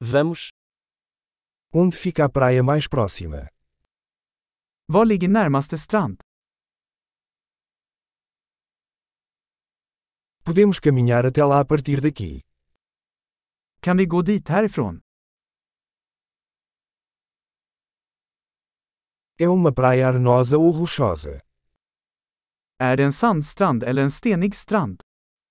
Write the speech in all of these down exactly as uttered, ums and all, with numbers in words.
Vamos. Onde fica a praia mais próxima? Var ligger närmaste strand? Podemos caminhar até lá a partir daqui. Kan vi gå dit härifrån? É uma praia arenosa ou rochosa? Är det en sandstrand eller en stenig strand?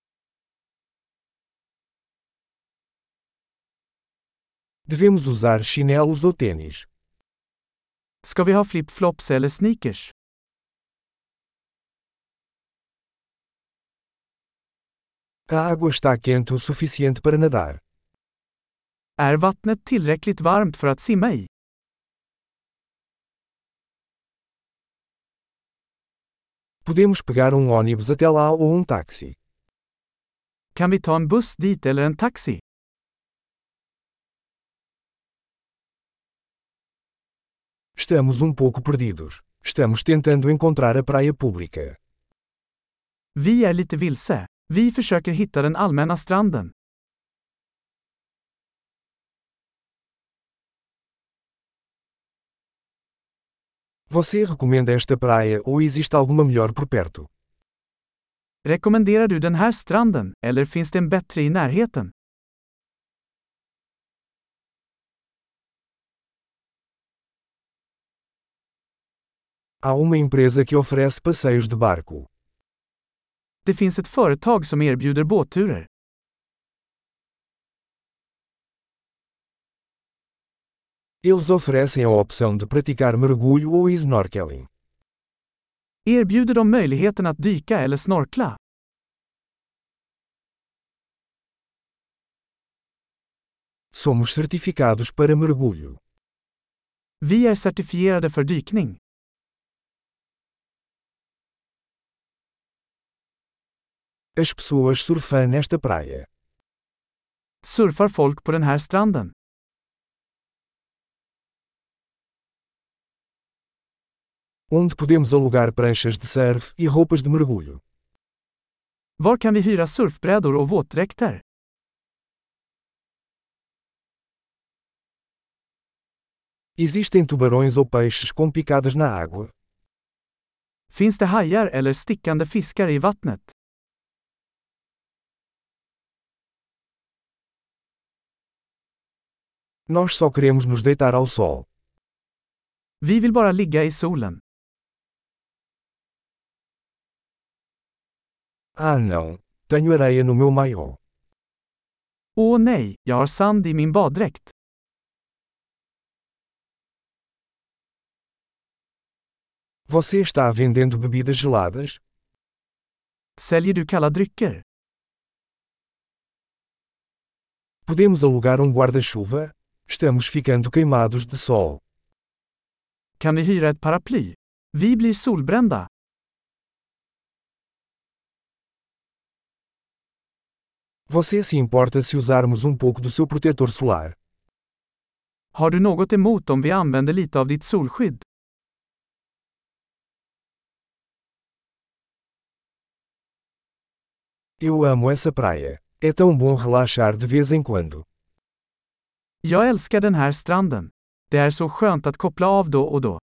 Devemos usar chinelos ou tênis? Ska vi ha flip-flops eller sneakers? A água está quente o suficiente para nadar. Är vattnet tillräckligt varmt för att simma i? Podemos pegar um ônibus até lá ou um táxi. Kan vi ta en buss dit eller en taxi? Estamos um pouco perdidos. Estamos tentando encontrar a praia pública. Vi är lite vilse. Vi försöker hitta den allmänna stranden. Você recomenda esta praia ou existe alguma melhor por perto? Rekommenderar du den här stranden, eller finns det en bättre i närheten? Há uma empresa que oferece passeios de barco. Det finns ett företag som erbjuder båtturer. Eles oferecem a opção de praticar mergulho ou snorkeling. Erbjuder de möjligheten att dyka eller snorkla? Somos certificados para mergulho. Vi är certifierade för dykning. As pessoas surfam nesta praia. Surfar folk på den här stranden? Onde podemos alugar pranchas de surf e roupas de mergulho? Var kan vi hyra surfbrädor och våtdräkter? Existem tubarões ou peixes com picadas na água? Finns det hajar eller stickande fiskar i vattnet? Nós só queremos nos deitar ao sol. Vi vill bara ligga i solen. Ah não, tenho areia no meu maiô. Åh nej, jag har sand i min baddräkt. Você está vendendo bebidas geladas? Säljer du kalla drycker? Podemos alugar um guarda-chuva? Estamos ficando queimados de sol. Kan vi hyra ett paraply? Vi blir solbrända. Você se importa se usarmos um pouco do seu protetor solar? Har du något emot om vi använder lite av ditt solskydd? Eu amo essa praia. É tão bom relaxar de vez em quando. Jag älskar den här stranden. Det är så skönt att koppla av då och då.